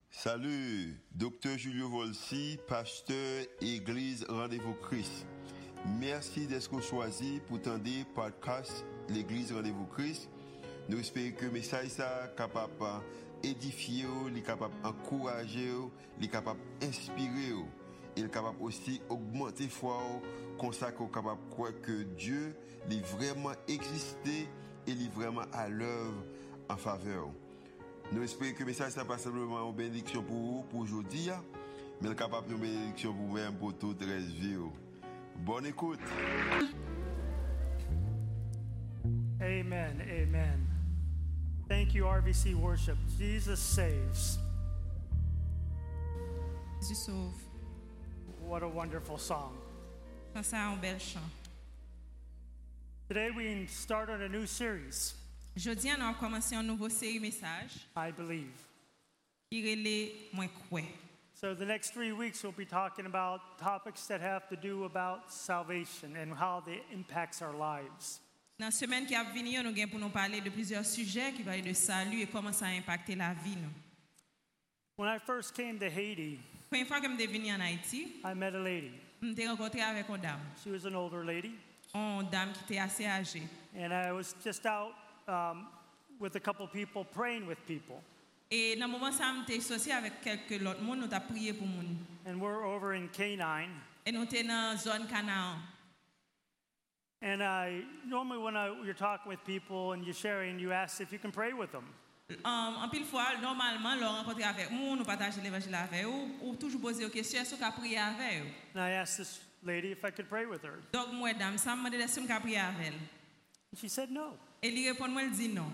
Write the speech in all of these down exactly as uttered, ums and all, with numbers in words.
Salut, docteur Julio Volsi, pasteur Église Rendez-vous Christ. Merci d'être choisi pour tendre podcast l'Église Rendez-vous Christ. Nous espérons que le message est capable d'édifier, capable d'encourager, capable d'inspirer, et capable aussi d'augmenter la foi, comme ça qu'on est capable de croire que Dieu est vraiment existé et est vraiment à l'œuvre en faveur. Nous espérons que le message n'est pas simplement une bénédiction pour vous, pour aujourd'hui, mais capable de bénédiction pour vous-même, pour toute la vie. Bonne écoute. Amen, amen. Thank you, R V C Worship. Jesus saves. Jésus sauve. What a wonderful song. Ça, c'est un bel chant. Today we start on a new series, Jeudi, on a commencé une nouvelle série message I Believe. qui relève moins quoi. So the next three weeks we'll be talking about topics that have to do about salvation and how they impacts our lives. Dans la semaine qui a venir, nous allons pour nous parler de plusieurs sujets qui parlent de salut et comment ça a impacté la vie. Nous. When I first came to Haiti, La première fois que je suis venu en Haïti, I met a lady. je suis rencontré avec une dame, She was an older lady, une dame qui était assez âgée. and I was just out um, with a couple people praying with people. Et dans le moment où je suis associé avec quelques autres personnes, nous avons prié pour nous. And we're over in Canine. Et nous étions dans la zone Canaan. And I normally when I, you're talking with people and you're sharing, you ask if you can pray with them. Um, en pile fois, normalement, nous rencontrer avec nous, nous partager l'évangile avec eux, ou toujours poser des questions, est-ce qu'on peut prier avec eux? And I asked this lady if I could pray with her. Donc, moi, dame, ça me demande si je peux prier avec elle. And she said no. Et elle répond, moi, elle dit non.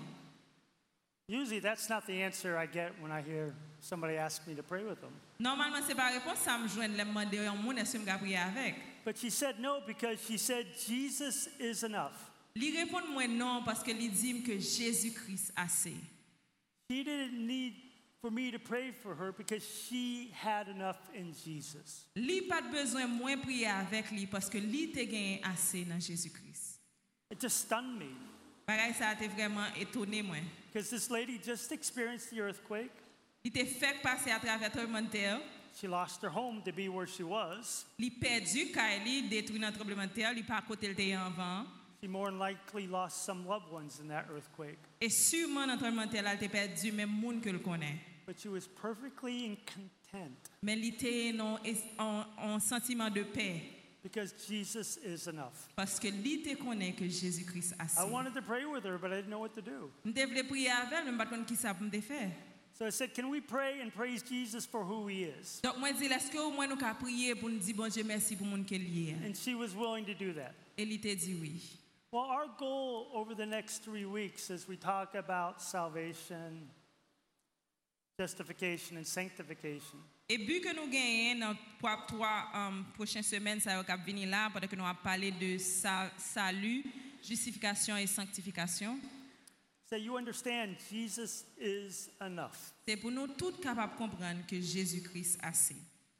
Usually that's not the answer I get when I hear somebody ask me to pray with them. Normalement, c'est pas réponse, ça me joint, elle me demande un monde, est-ce que je peux prier avec? But she said no because she said Jesus is enough. Elle répond, moi, non, parce qu'elle dit que Jésus-Christ a assez. She didn't need for me to pray for her because she had enough in Jesus. Li pas de besoin moins prier avec lui parce que li te gagne assez dans Jésus-Christ. It just stunned me Pareil, ça a été vraiment étonné moi. because this lady just experienced the earthquake. Il te fait passer à travers tremblement de terre. She lost her home to be where she was. Li perdu quand il détruit dans tremblement de terre, li pas côté le terre en vent. She more than likely lost some loved ones in that earthquake. Et sûrement dans tremblement de terre, elle a perdu même monde que le connaît. But she was perfectly in content Mais il était non en, en sentiment de paix because Jesus is enough. parce que li te connaît que Jésus-Christ a assez. I wanted to pray with her, but I didn't know what to do. Je devais prier avec elle, mais pas connaître qui ça pour me faire. So I said, can we pray and praise Jesus for who he is? Donc moi dis est-ce que au moins nous ca prier pour nous dire bon Dieu merci pour monde qu'il y est. And she was willing to do that. Et il te dit oui. Well, our goal over the next three weeks as we talk about salvation, justification, and sanctification Et but que nous gagnons dans trois, trois um, prochaines semaines, ça va venir là, pendant que nous allons parler de sa, salut, justification et sanctification. so you understand Jesus is enough. C'est pour nous tous capables de comprendre que Jésus-Christ a assez.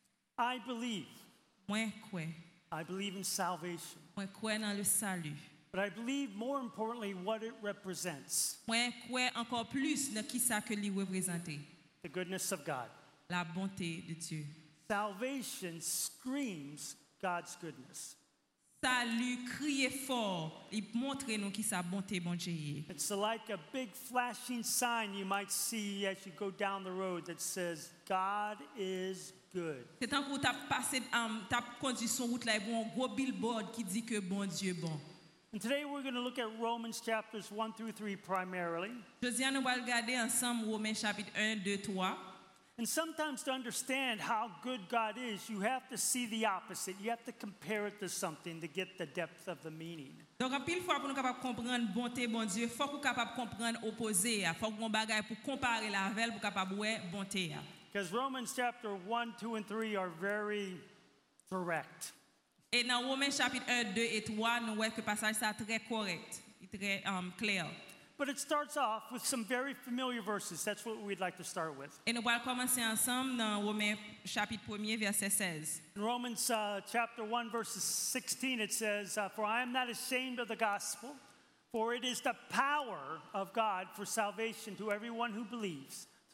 I believe. Moi, quoi? I believe in salvation. Moi, quoi dans le salut? But I believe more importantly what it represents. Moi, quoi encore plus dans qui ça que lui représente? The goodness of God. La bonté de Dieu. Salvation screams God's goodness. Salut, crier fort, il montre nous qui sa bonté bon Dieu. It's like a big flashing sign you might see as you go down the road that says God is good. C'est tant que tu as passé, um, tu as conduit son route là, il y a un gros billboard qui dit que bon Dieu bon. And today we're going to look at Romans chapters one through three primarily. Aujourd'hui, nous allons regarder ensemble Romains chapitre un, deux, trois. And sometimes to understand how good God is, you have to see the opposite. You have to compare it to something to get the depth of the meaning. Donc, en pile fois, pour nous capables comprendre bonté, bon Dieu, il faut qu'on capable comprendre opposé. Il faut qu'on bagaille pour comparer la veille pour capable ouais bonté. Because Romans chapter one, two, and three are very direct. Et dans Romains chapitre un, deux et trois, nous voyons que le passage est très correct, très um, clair. But it starts off with some very familiar verses. That's what we'd like to start with. Et nous allons commencer ensemble dans Romains chapitre un, verset seize. In Romans uh, chapter one, verse sixteen, it says, uh, For I am not ashamed of the gospel, for it is the power of God for salvation to everyone who believes,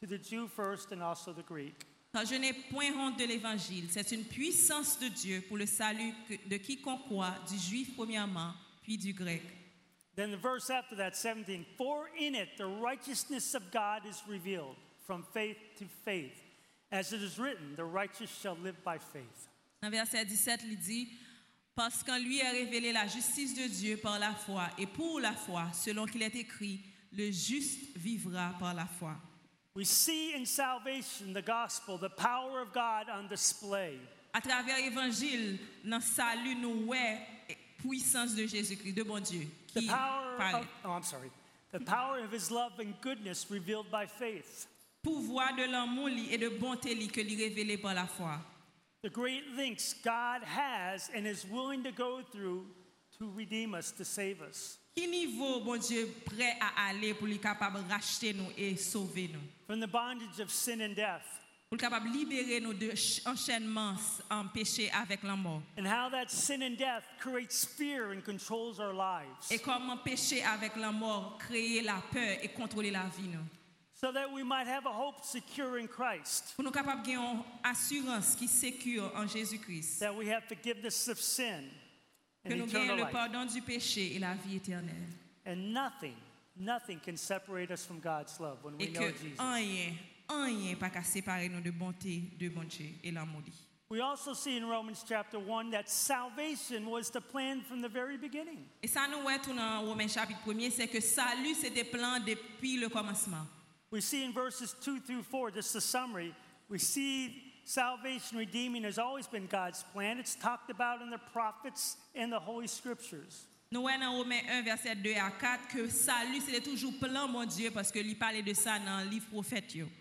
to the Jew first and also the Greek. Car je n'ai point honte de l'évangile. C'est une puissance de Dieu pour le salut de quiconque croit, du juif premièrement, puis du grec. Then the verse after that, seventeen, for in it the righteousness of God is revealed from faith to faith. As it is written, the righteous shall live by faith. Dans verset dix-sept, il dit, parce qu'en lui est révélée la justice de Dieu par la foi, et pour la foi, selon qu'il est écrit, le juste vivra par la foi. We see in salvation, the gospel, the power of God on display. À travers l'évangile, dans le salut, nous voyons la puissance de Jésus-Christ, de bon Dieu, The qui power paraît. of, oh, I'm sorry. The power of his love and goodness revealed by faith. Pouvoir de l'amour li et de bonté li que lui révélé par la foi. The great lengths God has and is willing to go through to redeem us, to save us. Qui niveau bon Dieu prêt à aller pour lui capable racheter nous et sauver nous? From the bondage of sin and death. Pour capable libérer nous de enchaînement en péché avec la mort. And how that sin and death creates fear and controls our lives. Et comment péché avec la mort créer la peur et contrôler la vie nous. So that we might have a hope secure in Christ. Pour nous capable gagner une assurance qui sécure en Jésus-Christ. That we have forgiveness of sin Que and nous eternal gagnons le life. pardon du péché et la vie éternelle. And nothing, nothing can separate us from God's love when we Et know que Jesus. rien, rien pas qu'à séparer nous de bonté de bon Dieu et l'amour. We also see in Romans chapter one that salvation was the plan from the very beginning. Et ça nous voit tout dans Romains chapitre premier, c'est que salut c'était plan depuis le commencement. We see in verses two through four, just a summary, we see salvation, redeeming has always been God's plan. It's talked about in the prophets and the Holy Scriptures. Nous voyons dans Romains un, verset deux à quatre, que salut c'était toujours plan mon Dieu parce que lui parlait de ça dans le livre prophète. yo.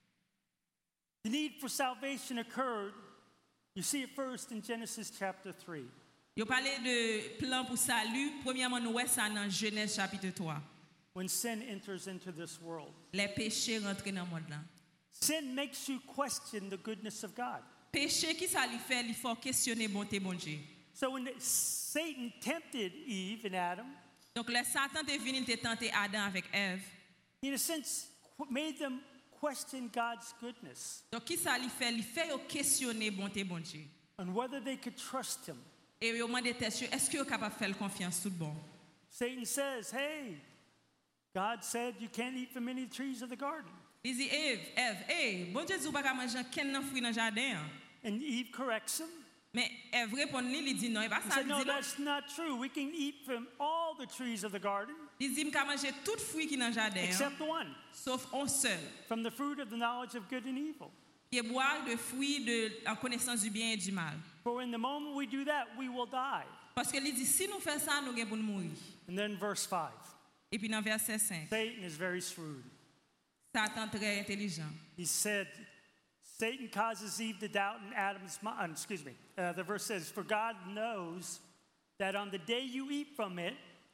The need for salvation occurred, you see it first in Genesis chapter three. Il parlait de plan pour salut. Premièrement, nous voyons ça dans Genèse chapitre trois. When sin enters into this world. Les péchés rentrent dans le monde là. Sin makes you question the goodness of God. Péché qui ça lui fait, il faut questionner bonté bon Dieu. So when Satan tempted Eve and Adam, Donc le Satan est venu te tenter Adam avec Ève. in a sense, qu- made them question God's goodness Donc qui ça lui fait, il fait yo questionner bonté bon Dieu. and whether they could trust him. Et yo demande tête est-ce que vous capable faire confiance tout bon? Satan says, hey, God said you can't eat from any trees of the garden. Il dit Ève, Ève, hey, bon Dieu dit pas manger aucun fruit dans jardin. hein. And Eve corrects him. Mais Ève répond lui, il dit non, il pas He ça said, il no, dit non. that's not true. We can eat from all the trees of the garden Il dit m'ka manger tout fruit qui dans jardin, hein, except one, sauf un seul. from the fruit of the knowledge of good and evil. Qui est boire de fruits de en connaissance du bien et du mal. For in the moment we do that, we will die. Parce que il dit si nous faisons ça, nous allons mourir. And then verse five, Et puis dans verset cinq, Satan is very shrewd. Satan très intelligent. He said, Satan causes Eve to doubt in Adam's mind. Excuse me. Uh, the verse says, for God knows that on the day you eat from it,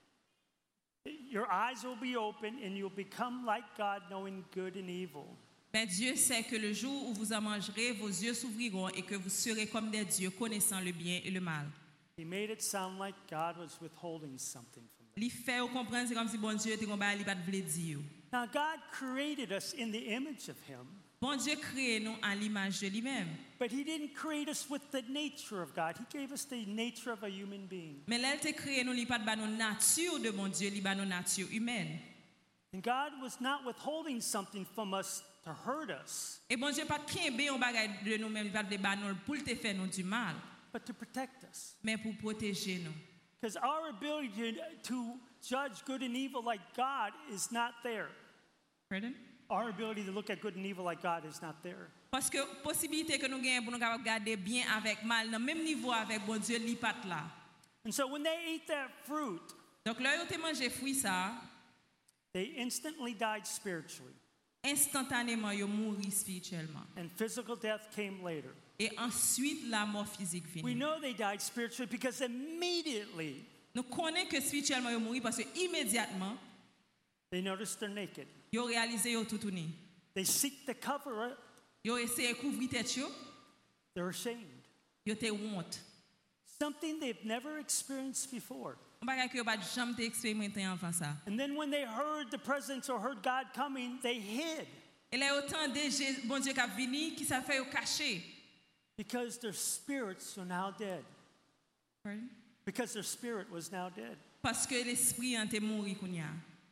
your eyes will be open and you'll become like God, knowing good and evil. Mais Dieu sait que le jour où vous en mangerez, vos yeux s'ouvriront et que vous serez comme des dieux connaissant le bien et le mal. He made it sound like God was withholding something from them. Li fait ou comprendre c'est comme si bon Dieu était comme il pas vle dire. Now, God created us in the image of Him, Bon Dieu crée nous à l'image de lui-même. but He didn't create us with the nature of God. He gave us the nature of a human being. Mais là, il te créé nous, il pas de nos nature de bon Dieu, il ba nos nature humaine. And God was not withholding something from us to hurt us, Et bon Dieu pas kembe on bagay de nous-mêmes, il pas de ba nous pour te faire nous du mal, but to protect us. mais pour protéger nous. Because our ability to, to judge good and evil like God is not there. Pardon? Our ability to look at good and evil like God is not there. Parce que possibilité que nous gagnons pour nous capable garder bien avec mal, dans même niveau avec bon Dieu, li pas là. And so when they ate that fruit, Donc là, yo te mangé fruit ça, they instantly died spiritually, instantanément yo mouri spirituellement. and physical death came later. Et ensuite la mort physique We vient. know they died spiritually because immediately Nous connaissons que spirituellement yo mouri parce que immédiatement they noticed they're naked. yo réalisé yo tout tourné. They seek to cover it. Yo essayé couvrir tête yo, They're ashamed. yo te honte. Something they've never experienced before. On bagay que yo pas jamais te expérimenté avant ça. And then when they heard the presence or heard God coming, they hid. Et là yo autant de bon Dieu qui a venu qui ça fait au caché. Because their spirits are now dead. Pardon? Because their spirit was now dead. Parce que l'esprit en était mort kounya.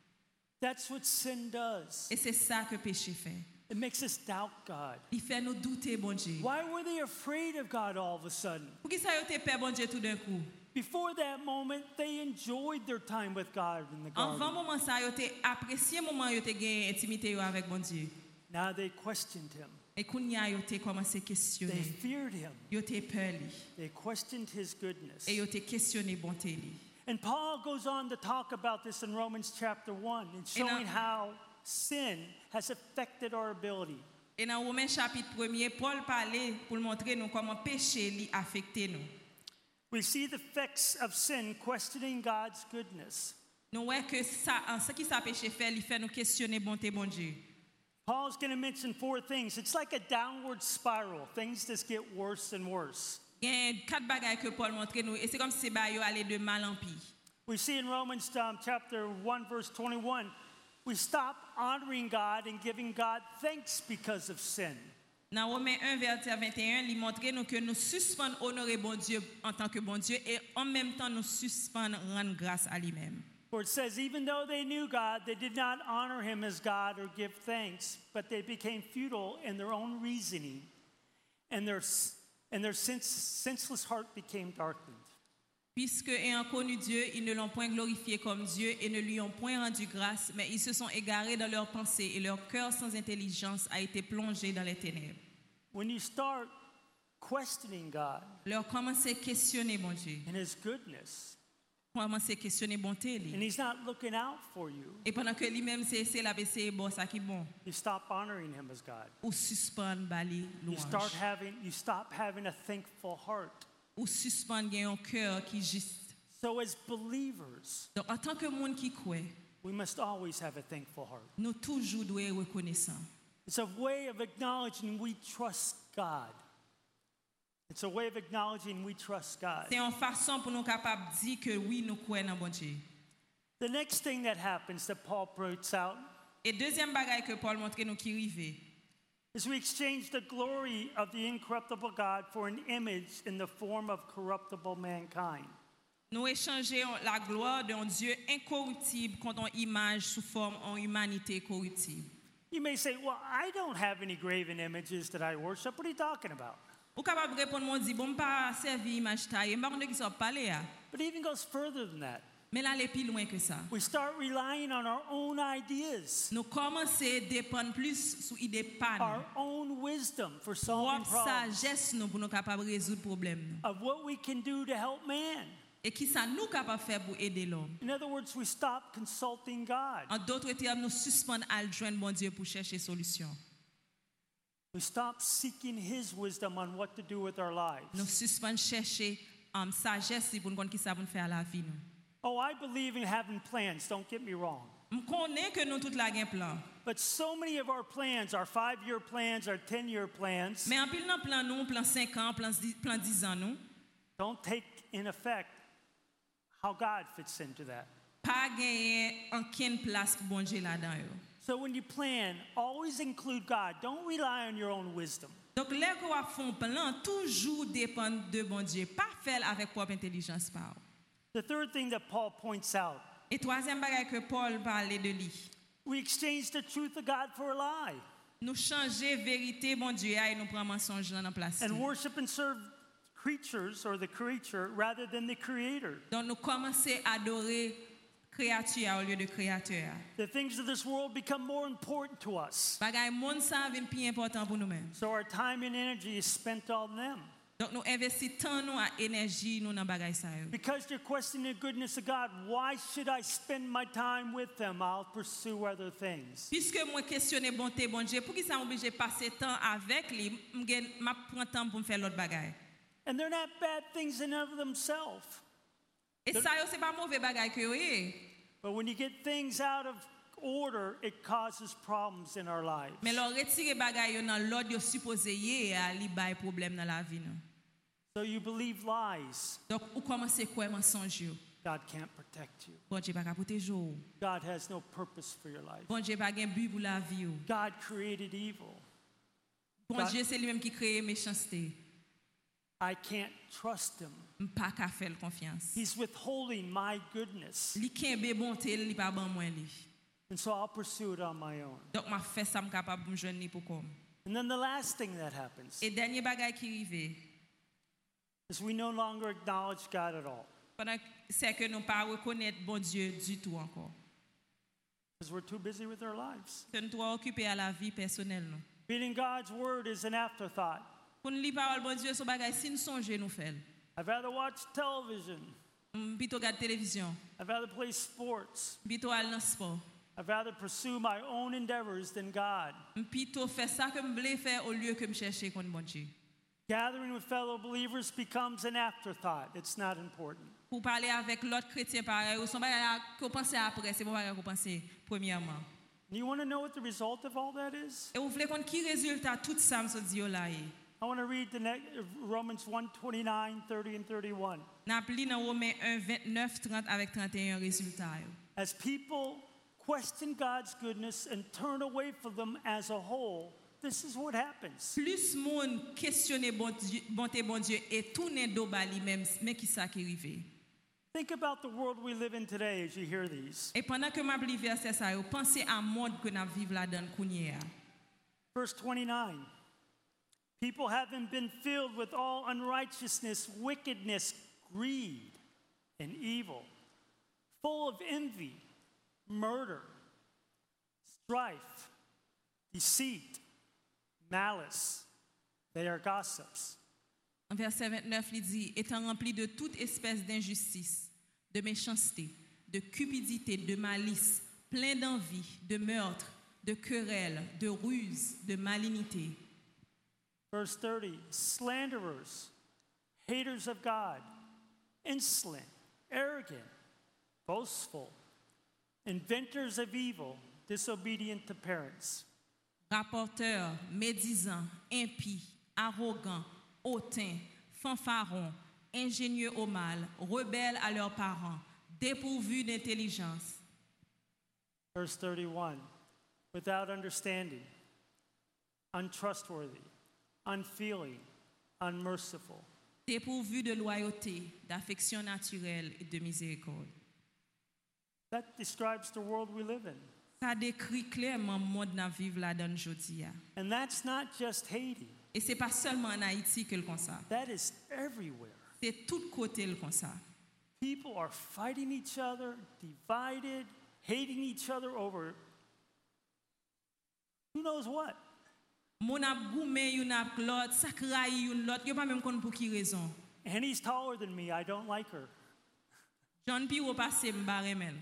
That's what sin does. Et c'est ça que péché fait. It makes us doubt God. Il fait nous douter bon Dieu. Why were they afraid of God all of a sudden? Pour qui ça yo te peur bon Dieu tout d'un coup? Before that moment, they enjoyed their time with God in the Avant garden. moment ça yo te apprécié moment yo te gain intimité yo avec bon Dieu. Now they questioned him. Et kounya yo te commencé They questionner. feared him. Yo te peur li. They questioned his goodness. Et yo te questionner bonté li. And Paul goes on to talk about this in Romans chapter one and showing how sin has affected our ability. Et dans Romains chapitre premier, Paul parlait pour montrer nous comment péché li affecté nous. We see the effects of sin questioning God's goodness. Nous voyons que ça, en ce qui ça péché fait, il fait nous questionner bonté bon Dieu. Paul's going to mention four things. It's like a downward spiral. Things just get worse and worse. Il y a quatre bagages que Paul montre nous et c'est comme si bah yo allait de mal en pire. We see in Romans um, chapter one verse twenty-one, we stop honoring God and giving God thanks because of sin. Dans Romains un verset vingt et un, il montre nous que nous suspendons honorer bon Dieu en tant que bon Dieu et en même temps nous suspendons rendre grâce à lui-même. For it says, even though they knew God, they did not honor him as God or give thanks, but they became futile in their own reasoning, and their, and their sense, senseless heart became darkened. Puisque ayant connu Dieu, ils ne l'ont point glorifié comme Dieu et ne lui ont point rendu grâce, mais ils se sont égarés dans leurs pensées et leur cœur sans intelligence a été plongé dans les ténèbres. When you start questioning God Leur commencer à questionner bon Dieu, and his goodness, commencer à questionner bonté and li. he's not looking out for you, Et pendant que lui-même c'est c'est la c'est bon ça qui bon, you stop honoring him as God. ou suspend bali You start louange, having, you stop having a thankful heart. ou suspend gain un cœur qui juste. So as believers, Donc en tant que monde qui croit, we must always have a thankful heart. nous toujours doit être reconnaissant. It's a way of acknowledging we trust God. It's a way of acknowledging we trust God. C'est une façon pour nous capables dire que oui nous croyons dans bon Dieu. The next thing that happens that Paul points out Et deuxième bagaille que Paul montre nous qui rive, is we exchange the glory of the incorruptible God for an image in the form of corruptible mankind. nous échangeons la gloire d'un Dieu incorruptible contre une image sous forme en humanité corruptible. You may say, well, I don't have any graven images that I worship. What are you talking about? Ou capable répondre mon dit bon pas servir image taille, pas qui sont parler à. But it even goes further than that. Mais là aller plus loin que ça. We start relying on our own ideas, Nous commencer dépendre plus sur idée pas our own wisdom for nous. solving problems, sagesse nous pour nous capable résoudre problème nous. of what we can do to help man. Et qui ça nous capable faire pour aider l'homme. In other words, we stop consulting God. En d'autres termes, nous suspendons à joindre bon Dieu pour chercher solution. We stop seeking his wisdom on what to do with our lives. Nous suspendons chercher um, sagesse pour nous connaître qui ça pour faire la vie nous. Oh, I believe in having plans, don't get me wrong. Je connais que nous tout la gain plan. But so many of our plans, our five-year plans, our ten-year plans, Mais en pile dans plan nous, plan cinq ans, plan plan dix ans nous, don't take in effect how God fits into that. pas gagner aucune place pour bon Dieu là-dedans yo. So when you plan, always include God. Don't rely on your own wisdom. Donc les qu'on va font plan toujours dépend de bon Dieu, pas faire avec propre intelligence pas. The third thing that Paul points out, Et troisième bagage que Paul parlait de lui. we exchange the truth of God for a lie Nous changer vérité bon Dieu et nous prendre mensonge dans la place. and worship and serve creatures or the creature rather than the creator. Donc nous commencer à adorer créature au lieu de créateur. The things of this world become more important to us. Bagay monde ça vient plus important pour nous-mêmes. So our time and energy is spent on them. Donc nous investissons tant nous à énergie nous dans bagay ça yo. Because you're questioning the goodness of God, why should I spend my time with them? I'll pursue other things. Puisque moi questionner bonté bon Dieu, pour qui ça m'oblige passer temps avec lui, m'a prend temps pour me faire l'autre bagay. And they're not bad things in and of themselves. Et ça yo c'est pas mauvais bagay que yo est. But when you get things out of order, it causes problems in our lives. Mais leur retirer bagay yo dans l'ordre yo supposé yé a li bay problème dans la vie nous. So you believe lies. Donc ou commencer quoi mensonge yo. God can't protect you. Bon Dieu pas capable protéger ou. God has no purpose for your life. Bon Dieu pas gen but pour la vie ou. God created evil. Bon God- Dieu c'est lui-même qui crée méchanceté. I can't trust him. Pas qu'à faire confiance. He's withholding my goodness. Li kembe bonté, li pas ban moi li. And so I'll pursue it on my own. Donc m'a fait ça m capable me joindre pour comme. And then the last thing that happens Et dernier bagage qui arrivé, is we no longer acknowledge God at all pendant c'est que nous pas reconnaître bon Dieu du tout encore. because we're too busy with our lives. Que nous trop occupés à la vie personnelle nous. Reading God's word is an afterthought. Pour nous lire parole bon Dieu son bagage si nous songer nous faire. I'd rather watch television. Plutôt regarder télévision, I'd rather play sports. plutôt aller dans sport. I'd rather pursue my own endeavors than God. Plutôt faire ça que me voulais faire au lieu que me chercher contre bon Dieu. Gathering with fellow believers becomes an afterthought. It's not important. Pour parler avec l'autre chrétien pareil, ou son bagage qu'on pense après, c'est bon bagage qu'on pense premièrement. And you want to know what the result of all that is? Et vous voulez qu'on qui résultat tout ça me dit là. I want to read the next, Romans one twenty-nine, thirty, and thirty-one. N'a pli dans Romains un, vingt-neuf, trente avec trente et un résultat. As people question God's goodness and turn away from them as a whole, this is what happens. Plus monde questionner bon Dieu, bonté bon Dieu et tourner dos bali même mais qui ça qui arrivé. Think about the world we live in today as you hear these. Et pendant que m'a pli verset ça, pensez à monde que n'a vivre là-dedans kounye. Verse twenty-nine. People having been filled with all unrighteousness, wickedness, greed, and evil, full of envy, murder, strife, deceit, malice. They are gossips. En verset vingt-neuf, il dit, étant rempli de toute espèce d'injustice, de méchanceté, de cupidité, de malice, plein d'envie, de meurtre, de querelle, de ruse, de malignité. Verse thirty, slanderers, haters of God, insolent, arrogant, boastful, inventors of evil, disobedient to parents. Rapporteurs, médisants, impies, arrogants, hautains, fanfarons, ingénieux au mal, rebelles à leurs parents, dépourvus d'intelligence. Verse thirty-one, without understanding, untrustworthy, unfeeling, unmerciful. Dépourvus de loyauté, d'affection naturelle et de miséricorde. That describes the world we live in. Ça décrit clairement le monde dans vivre là dans aujourd'hui. And that's not just Haiti. Et c'est pas seulement en Haïti que le comme ça. That is everywhere. C'est tout côté le comme ça. People are fighting each other, divided, hating each other over who knows what. Mon ap goumé yon ap l'autre, sakraï yon l'autre, yo pas même konn pour qui raison. And he's taller than me. I don't like her. John pi ou passe m'bare men.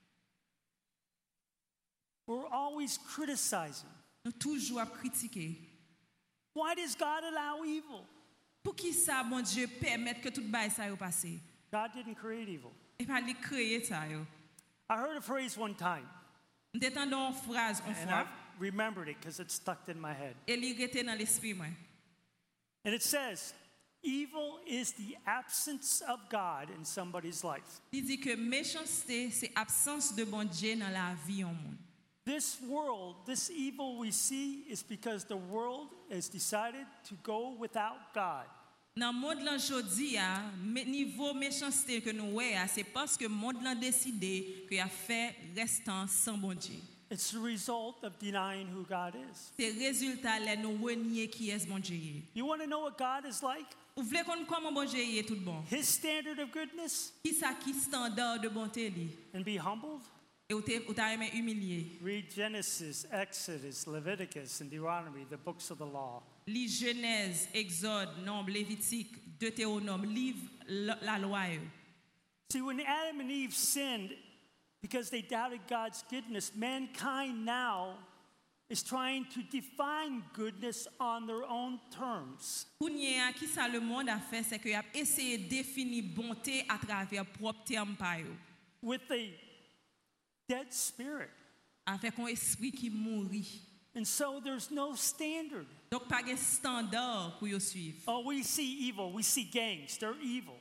We're always criticizing. Nous toujours ap critiquer. Why does God allow evil? Pour qui ça bon Dieu permettre que tout bail ça yo passe? God didn't create evil. Et pas li créer ça yo. I heard a phrase one time, M'tendon phrase une and fois I've remembered it because it's stuck in my head. et li rete dans l'esprit moi. And it says, evil is the absence of God in somebody's life. Il dit que méchanceté c'est absence de bon Dieu dans la vie en monde. This world, this evil we see is because the world has decided to go without God. Dans le monde là jodi a niveau méchanceté que nous ouais c'est parce que monde là décidé que a fait restant sans bon Dieu. It's the result of denying who God is. C'est résultat là nous renier qui est bon Dieu. You want to know what God is like? Vous voulez qu'on comment bon Dieu est tout bon. His standard of goodness? Qui ça qui standard de bonté li And be humbled? et ou t'es ou t'as aimé humilier. Read Genesis, Exodus, Leviticus, and Deuteronomy, the books of the law. Lis Genèse, Exode, Nombre, Lévitique, Deutéronome, livre la loi. yo. See, when Adam and Eve sinned because they doubted God's goodness, mankind now is trying to define goodness on their own terms. Kounye a qui ça le monde a fait c'est que a essayé de définir bonté à travers propre terme pa yo. With a dead spirit. Avec un esprit qui mourit. And so there's no standard. Donc pas de standard pour yo suivre. Oh, we see evil. We see gangs. They're evil.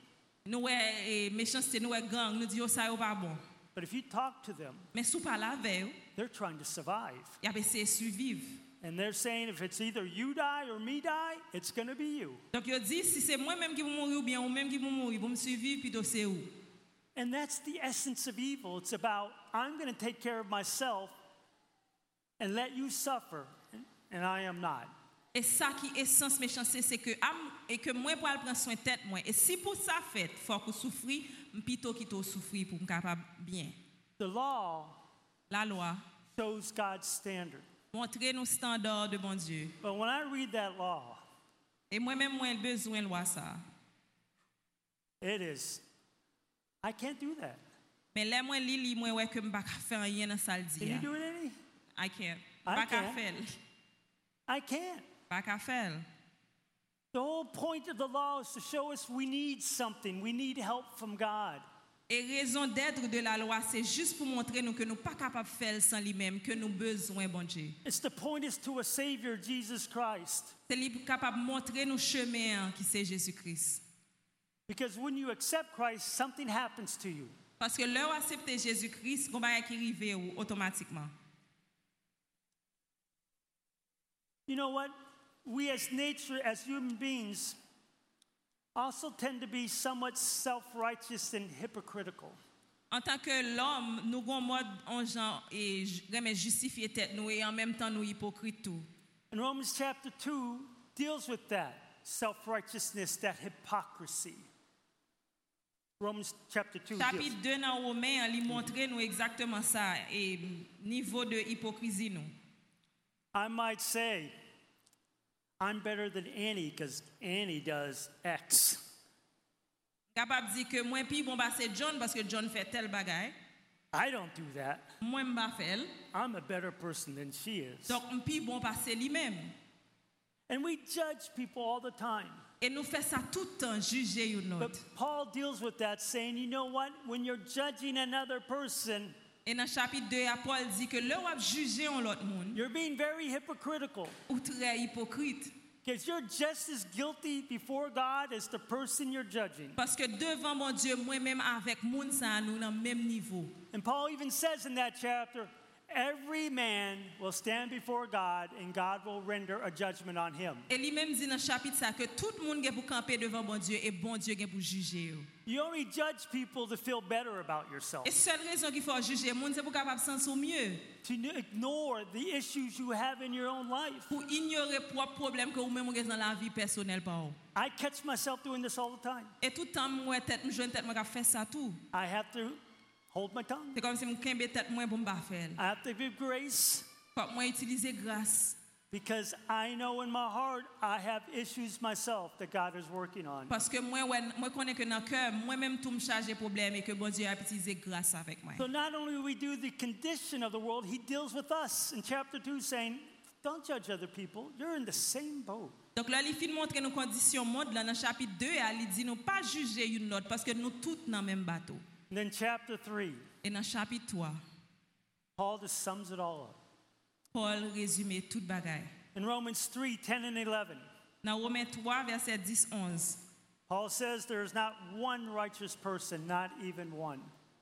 Nous ouais méchanceté, nous ouais gang, nous dit oh ça yo pas bon. But if you talk to them, Mais sous pas la veille, they're trying to survive. y a essayé de survivre. And they're saying if it's either you die or me die, it's going to be you. Donc yo dit si c'est moi même qui vais mourir ou bien ou même qui vais mourir, pour me survivre plutôt c'est où. And that's the essence of evil. It's about I'm going to take care of myself and let you suffer, and I am not. Et ça qui est essence méchanceté, c'est que am et que moi pour prendre soin tête moi. Et si pour ça fait, faut que souffrir, plutôt qui to souffrir pour me capable bien. The law La loi shows God's standard. montrer nos standards de bon Dieu. But when I read that law, Et moi-même moi besoin de loi ça. it is I can't do that. Mais là moi li li moi ouais que me pas faire rien dans ça le Can dit. you do it, Annie? I can't. I Pas qu'à can't. faire. I can't. Pas qu'à faire. The whole point of the law is to show us we need something. We need help from God. Et raison d'être de la loi, c'est juste pour montrer nous que nous pas capable de faire sans lui-même, que nous besoin bon Dieu. It's to point us to a Savior, Jesus Christ. C'est lui capable de montrer nous chemin qui c'est Jésus-Christ. Because when you accept Christ, something happens to you. Parce que l'heure accepter Jésus-Christ, on va qui arrive automatiquement. You know what? We as nature, as human beings, also tend to be somewhat self-righteous and hypocritical. En tant que l'homme, nous avons mode en genre et remet justifier tête nous et en même temps nous hypocrites tout. And Romans chapter two deals with that self-righteousness, that hypocrisy. Romans chapter two. Chapitre deals. deux dans Romains, il montre nous exactement ça et niveau de hypocrisie nous. I might say, I'm better than Annie because Annie does X. Capable dire que moi puis bon bah c'est John parce que John fait tel bagaille. I don't do that. Moi m'pa faire. I'm a better person than she is. Donc puis bon bah c'est lui-même. And we judge people all the time. Et nous fait ça tout le temps juger une But autre. Paul deals with that saying, you know what? When you're judging another person, Et dans chapitre deux, Paul dit que là où a jugé un autre monde, you're being very hypocritical. ou très hypocrite. Because you're just as guilty before God as the person you're judging. Parce que devant mon Dieu, moi-même avec moun ça nous dans le même niveau. And Paul even says in that chapter, every man will stand before God and God will render a judgment on him. Et lui-même dit dans chapitre ça que tout le monde est pour camper devant bon Dieu et bon Dieu est pour juger. You only judge people to feel better about yourself, Et seule raison qu'il faut juger monde c'est pour capable sentir mieux, to ignore the issues you have in your own life. pour ignorer propre problème que vous-même avez dans la vie personnelle par. I catch myself doing this all the time. Et tout le temps moi tête me joine tête moi fait ça tout. I have to hold my tongue. C'est comme si me kembe tête moi pour me pas faire. I have to give grace Faut moi utiliser grâce. because I know in my heart I have issues myself that God is working on. Parce que moi ouais, moi connais que dans cœur moi-même tout me charger problème et que bon Dieu a utilisé grâce avec moi. So not only do we do the condition of the world, he deals with us in chapter two saying, don't judge other people. You're in the same boat. Donc là il fin montre nos conditions monde là dans chapitre deux il dit nous pas juger une autre parce que nous toutes dans même bateau. And then chapter three, Et dans chapitre trois, Paul just sums it all up. Paul résume toute bagaille. In Romans three, ten and eleven, Dans Romains trois verset dix onze, Paul says there is not one righteous person, not even one.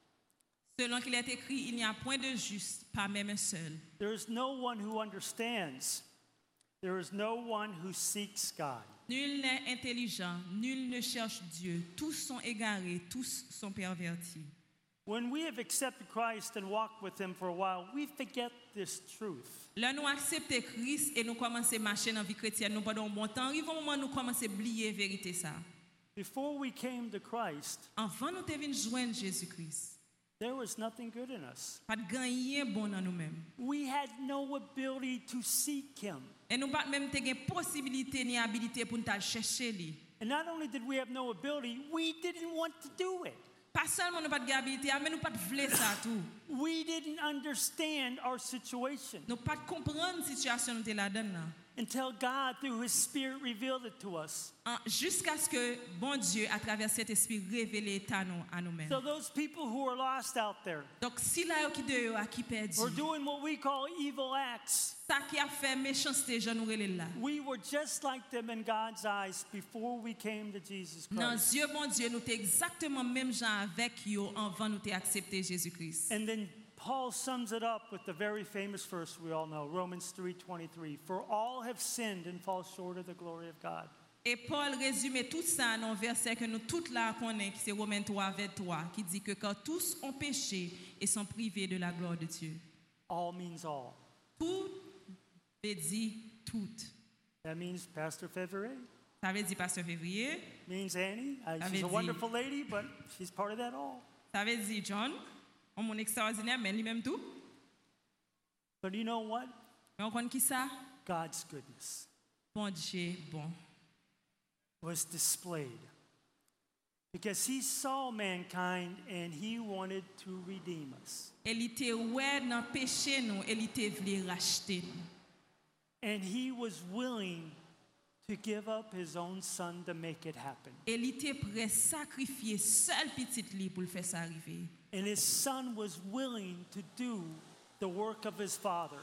selon qu'il est écrit, il n'y a point de juste, pas même un seul. There is no one who understands. There is no one who seeks God. Nul n'est intelligent, nul ne cherche Dieu. Tous sont égarés, tous sont pervertis. When we have accepted Christ and walked with him for a while, we forget this truth. Là, nous acceptons Christ et nous commençons à marcher dans la vie chrétienne. Nous pendant un bon temps, arrive un moment où nous commençons à oublier la vérité. Ça. Before we came to Christ, Avant nous devons joindre Jésus-Christ. there was nothing good in us. Pas de gagner bon dans nous-mêmes. We had no ability to seek him. Et nous pas même de possibilité ni habilité pour nous chercher lui. And not only did we have no ability, we didn't want to do it. Pas seulement nous pas de habilité, mais nous pas de vouloir ça tout. We didn't understand our situation. Nous pas de comprendre la situation nous là-dedans. until God, through His Spirit, revealed it to us. En- Jusqu'à ce que bon Dieu, à travers cet esprit, révèle à nous, à nous-mêmes. So those people who are lost out there, Donc, si là, qui de yo a qui perdu, or doing what we call evil acts, ça qui a fait méchanceté, je nous relève là. we were just like them in God's eyes before we came to Jesus Dans Christ. Dieu, bon Dieu, nous t'es exactement même gens avec yo avant nous t'ai accepté Jésus-Christ. And then Paul sums it up with the very famous verse we all know, Romans three twenty-three. For all have sinned and fall short of the glory of God. Et Paul résume tout ça dans un verset que nous tous là connaissons, qui c'est Romains trois, vingt-trois, qui dit que quand tous ont péché et sont privés de la gloire de Dieu. All means all. Tout veut dire tout. That means Pastor Février, Ça veut dire Pasteur Février, means Annie. Uh, she's she's a a wonderful wonderful lady, but she's part of that all. ça veut dire John, un monde extraordinaire, mais lui-même tout. But you know what? Mais on connaît qui ça? God's goodness Bon Dieu, bon. was displayed because He saw mankind and He wanted to redeem us. Elle était ouais dans péché nous, elle était voulu racheter nous. And He was willing to give up His own Son to make it happen. Elle était prêt à sacrifier seul petit lit pour le faire ça arriver. And His Son was willing to do the work of His Father.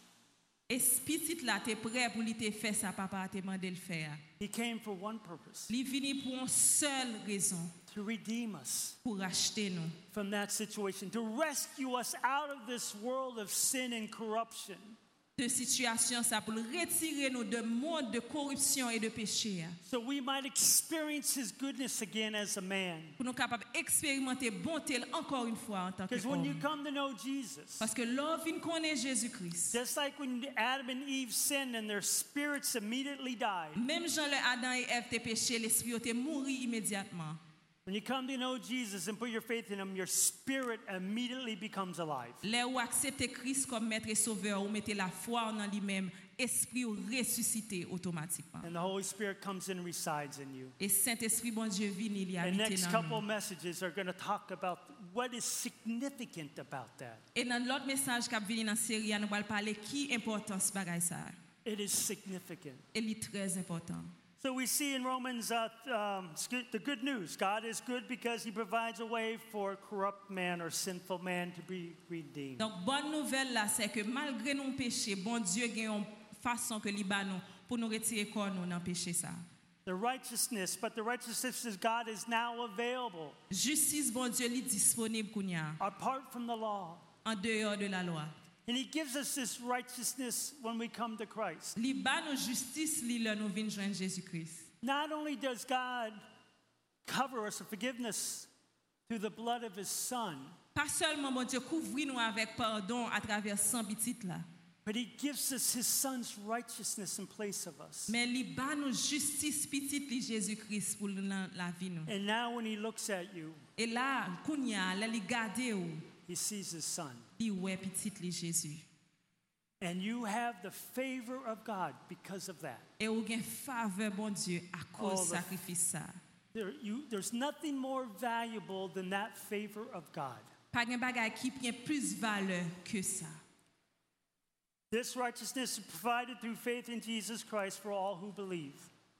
Et ce petit là t'es prêt pour lui te faire ça papa t'a demandé le faire. He came for one purpose, Il venu pour une seule raison, to redeem us pour racheter nous. from that situation, to rescue us out of this world of sin and corruption. De situation ça pour retirer nous de monde de corruption et de péché. So we might experience His goodness again as a man. Pour nous capables d'expérimenter bonté encore une fois en tant que Because when you homme. come to know Jesus, Parce que l'homme vient connaître Jésus-Christ. just like when Adam and Eve sinned and their spirits immediately died, Même Jean le Adam et Ève t'es péché, l'esprit t'es mouru immédiatement. when you come to know Jesus and put your faith in Him, your spirit immediately becomes alive. Là où accepter Christ comme maître et sauveur, ou mettez la foi en lui-même, esprit ou ressuscité automatiquement. And the Holy Spirit comes in and resides in you. Et Saint-Esprit bon Dieu vient il y The habite next dans couple nous. messages are going to talk about what is significant about that. Et dans l'autre message qui vient dans la série, nous allons parler qui importance bagaille ça. It is significant. Elle est très important. So we see in Romans uh, um, sc- the good news. God is good because He provides a way for corrupt man or sinful man to be redeemed. Donc bonne nouvelle là, c'est que malgré nos péchés, bon Dieu a une façon que li ba nous pour nous retirer corps nous dans péché ça. The righteousness, but the righteousness of God is now available Justice bon Dieu li disponible kounya apart from the law. en dehors de la loi. And He gives us this righteousness when we come to Christ. Li ba nous justice li là nous vinn joindre Jésus-Christ. Not only does God cover us with forgiveness through the blood of His Son, Pas seulement bon Dieu couvrir nous avec pardon à travers sang petit là, but He gives us His Son's righteousness in place of us. mais li ba nous justice petit li Jésus-Christ pour la, la vie nous. And now when He looks at you, Et là kounya là li garder ou He sees His Son. li ouais petit li Jésus. And you have the favor of God because of that. Et ou gen faveur bon Dieu à Oh, cause the- sacrifice ça. There, you, there's nothing more valuable than that favor of God. Pas gen bagay qui prend plus valeur que ça. This righteousness is provided through faith in Jesus Christ for all who believe.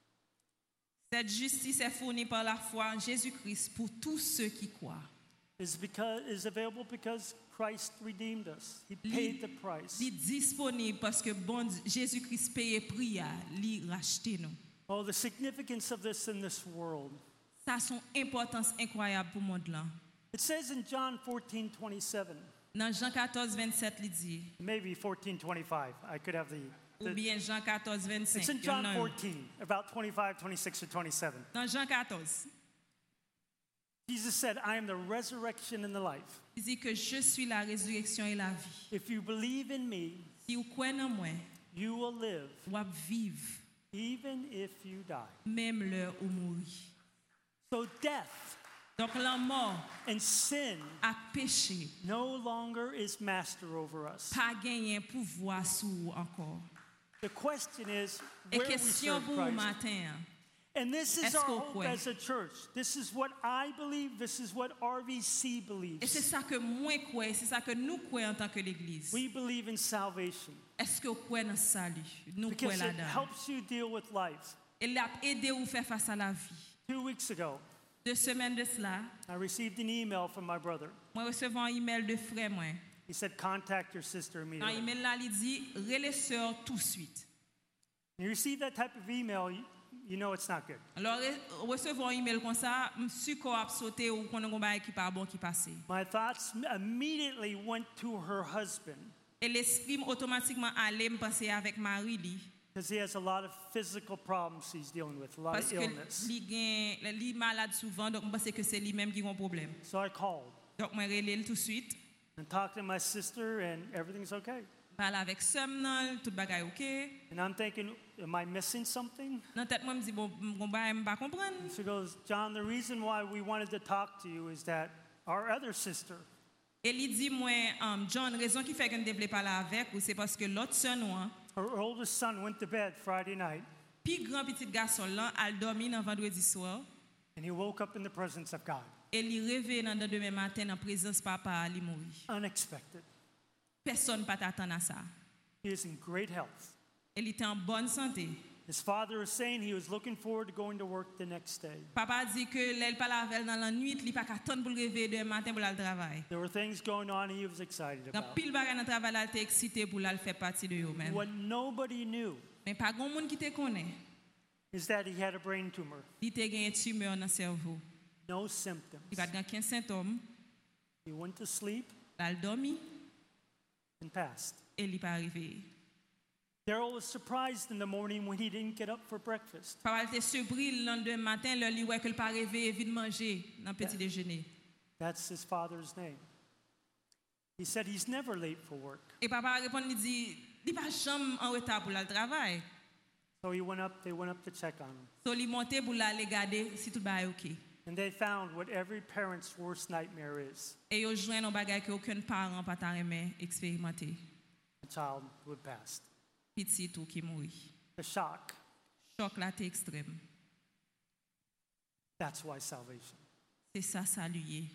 Cette justice est fournie par la foi en Jésus-Christ pour tous ceux qui croient. Is because is available because Christ redeemed us. He paid the price. Li disponible parce que bon Dieu- Jésus-Christ paye prix à li racheter nous. Oh, the significance of this in this world. Ça a son importance incroyable pour le monde là. It says in John fourteen twenty-seven, Dans Jean quatorze, vingt-sept, il dit, maybe fourteen twenty-five. I could have the. ou the bien Jean quatorze, it's vingt-cinq. in il y John en a un. fourteen, about twenty-five, twenty-six, or twenty-seven. Dans Jean quatorze, Jesus said, I am the resurrection and the life. il dit que je suis la résurrection et la vie. If you believe in me, Si vous croyez en moi, you will live, vous allez vivre, even if you die. même l'heure où mourir. So death Donc la mort and sin a péché, no longer is master over us. pas gagné pouvoir sur vous encore. The question is, Et where we question serve pour vous Christ. matin, And this is Est-ce our qu'on hope croit? as a church. This is what I believe. This is what R V C Et c'est believes. ça que moi crois, c'est ça que nous croyons en tant que l'Église. We believe in salvation Est-ce que vous croyez dans le salut? Nous because croyons it là-dedans. helps you deal with life. Il a aidé vous faire face à la vie. Two weeks ago, Deux semaines de cela, I received an email from my brother. moi recevais un email de frère moi. He said, contact your sister Dans immediately. l'email là, il dit relais sœur tout de suite. When you receive that type of email, you, you know it's not good. Alors recevoir un email comme ça, je suis qu'on a sauté ou qu'on a un bail qui pas bon qui passé. My thoughts immediately went to her husband Et l'esprit automatiquement allait me penser avec Marie li because he has a lot of physical problems he's dealing with, a lot parce of que illness. li gen li malade souvent donc je pense que c'est lui-même qui a un problème. So I called Donc moi relais tout de suite, and talked to my sister, and everything's okay. parle avec Sam nan, tout bagay OK. And I'm thinking, am I missing something? Dans tête moi me dit bon mon bail me pas comprendre. And she goes, John, the reason why we wanted to talk to you is that our other sister, Et il dit moi um, John raison qui fait que ne devait pas là avec ou c'est parce que l'autre sœur nous hein, her oldest son, went to bed Friday night, puis grand petit garçon là, elle dormi dans vendredi soir and he woke up in the presence of God. et il réveille dans le demain matin en présence papa il mourir. Unexpected. Personne pas t'attendre à ça. He is in great health. Il était en bonne santé. His father is saying he was looking forward to going to work the next day. Papa dit que l'elle pas avec dans la nuit, il pas attendre pour le réveiller demain matin pour aller travail. There were things going on he was excited Dans about. pile bagay dans travail là, il était excité pour aller faire partie de eux même. What nobody knew Mais pas grand monde qui te connaît. is that he had a brain tumor. Il te gagne tumeur dans le cerveau. No symptoms. Il pas aucun symptôme. He went to sleep Il dormi and passed. et il pas arrivé. Daryl was surprised in the morning when he didn't get up for breakfast. Papa était surpris le lendemain matin, le lui ouais que pas réveillé vite manger dans le petit déjeuner. That's his father's name. He said he's never late for work. Et papa répond il dit, il pas jamais en retard pour aller travail. So he went up, they went up to check on him. So il monté pour aller regarder si tout va OK. And they found what every parent's worst nightmare is, Et yo joint un bagay que aucun parent pas ta remet expérimenter. a child who had passed. Petit tout qui mourit. The shock, Choc là t'es extrême. that's why salvation. C'est ça saluer.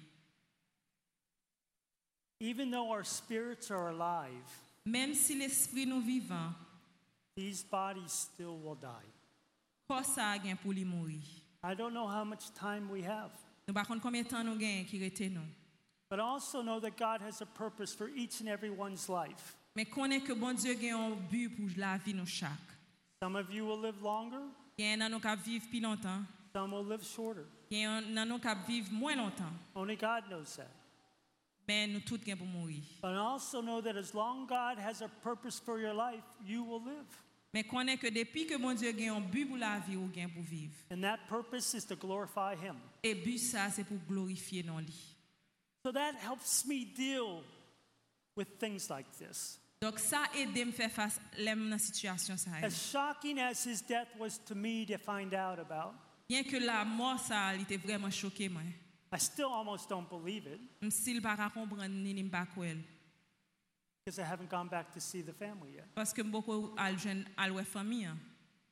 Even though our spirits are alive, Même si l'esprit nous vivant, these bodies still will die. corps ça gain pour lui mourir. I don't know how much time we have, Nous pas compte combien de temps nous gain qui rete nous. but I also know that God has a purpose for each and every one's life. Mais connaît que bon Dieu gain un but pour la vie nous chaque. Some of you will live longer, Gain nan nous cap vivre plus longtemps. some will live shorter. Gain nan nous cap vivre moins longtemps. Only God knows that. Mais nous tous gain pour mourir. But I also know that as long God has a purpose for your life, you will live. Mais connaît que depuis que bon Dieu gain un but pour la vie ou gain pour vivre. And that purpose is to glorify Him. Et but ça c'est pour glorifier non lui. So that helps me deal with things like this. Donc ça aide me faire face l'aime dans situation ça. As shocking as his death was to me to find out about, Bien que la mort ça il était vraiment choqué moi. I still almost don't believe it M s'il pas comprendre ni ni pas croire because I haven't gone back to see the family yet. parce que beaucoup al jeune al ouais famille. hein.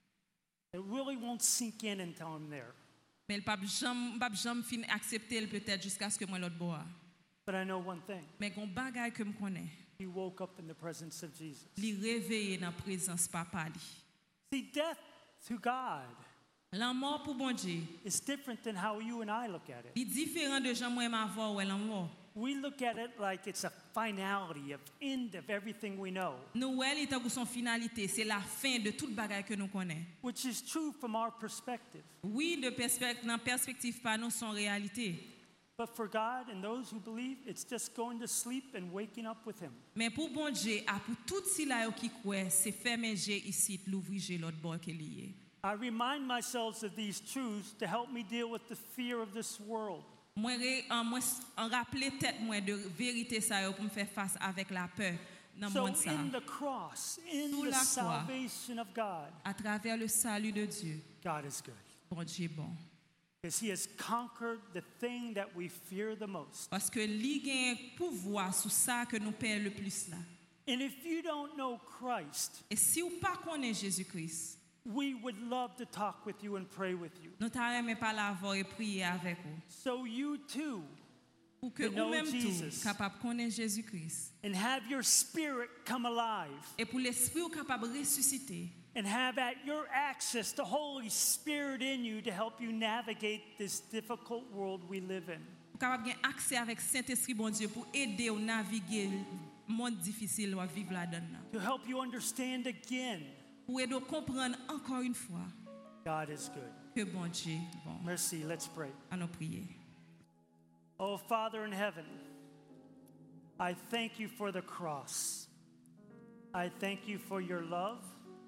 It really won't sink in until I'm there. Mais le pape jamais pape jamais fin accepter le peut-être jusqu'à ce que moi l'autre bois. But I know one thing. Mais gon bagay que me connais. He woke up in the presence of Jesus. Li réveillé dans présence papa li. See, death to God La mort pour bon Dieu, is different than how you and I look at it. il différent de gens moi m'avoir ou la mort. We look at it like it's a finality of end of everything we know, Nous ouais il pour son finalité, c'est la fin de toute bagay que nous connaît. which is true from our perspective. Oui, de perspective dans perspective pas nous son réalité. But for God and those who believe, it's just going to sleep and waking up with Him. Mais pour bon Dieu, à pour tout si là yo qui croit, c'est fermer Dieu ici, l'ouvrir Dieu l'autre bord qui est lié. I remind myself of these truths to help me deal with the fear of this world. Moi en moi en rappeler tête moi de vérité ça yo pour me faire face avec la peur dans So monde ça. in the cross, in Sous the la croix. salvation of God, À travers le salut de Dieu, God is good. bon Dieu est bon. Because He has conquered the thing that we fear the most. Parce que li gen pouvoir sur ça que nous perd le plus là. And if you don't know Christ, Et si ou pas connaît Jésus-Christ, we would love to talk with you and pray with you. Nous t'aimeons parler avant et prier avec vous. So you too Pour que To know vous-même Jesus. tous capable de connaître Jésus-Christ. and have your spirit come alive Et pour l'esprit ou capable de ressusciter. and have at your access the Holy Spirit in you to help you navigate this difficult world we live in. Pour capable de gagner accès avec Saint-Esprit bon Dieu pour aider à naviguer le monde difficile ou à vivre là-dedans. To help you understand again, Pour aider à comprendre encore une fois God is good. que bon Dieu est bon. Merci, let's pray. À nous prier. Oh, Father in heaven, I thank you for the cross. I thank you for your love.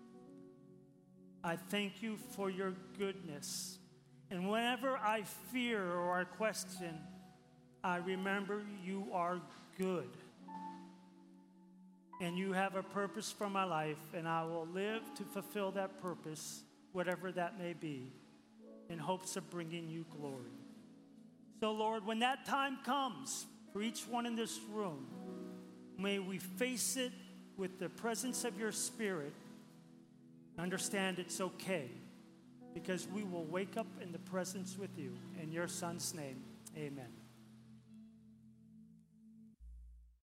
I thank you for your goodness. And whenever I fear or I question, I remember you are good. And you have a purpose for my life, and I will live to fulfill that purpose, whatever that may be, in hopes of bringing you glory. So, Lord, when that time comes for each one in this room, may we face it with the presence of your Spirit. Understand it's okay, because we will wake up in the presence with you. In your Son's name, amen.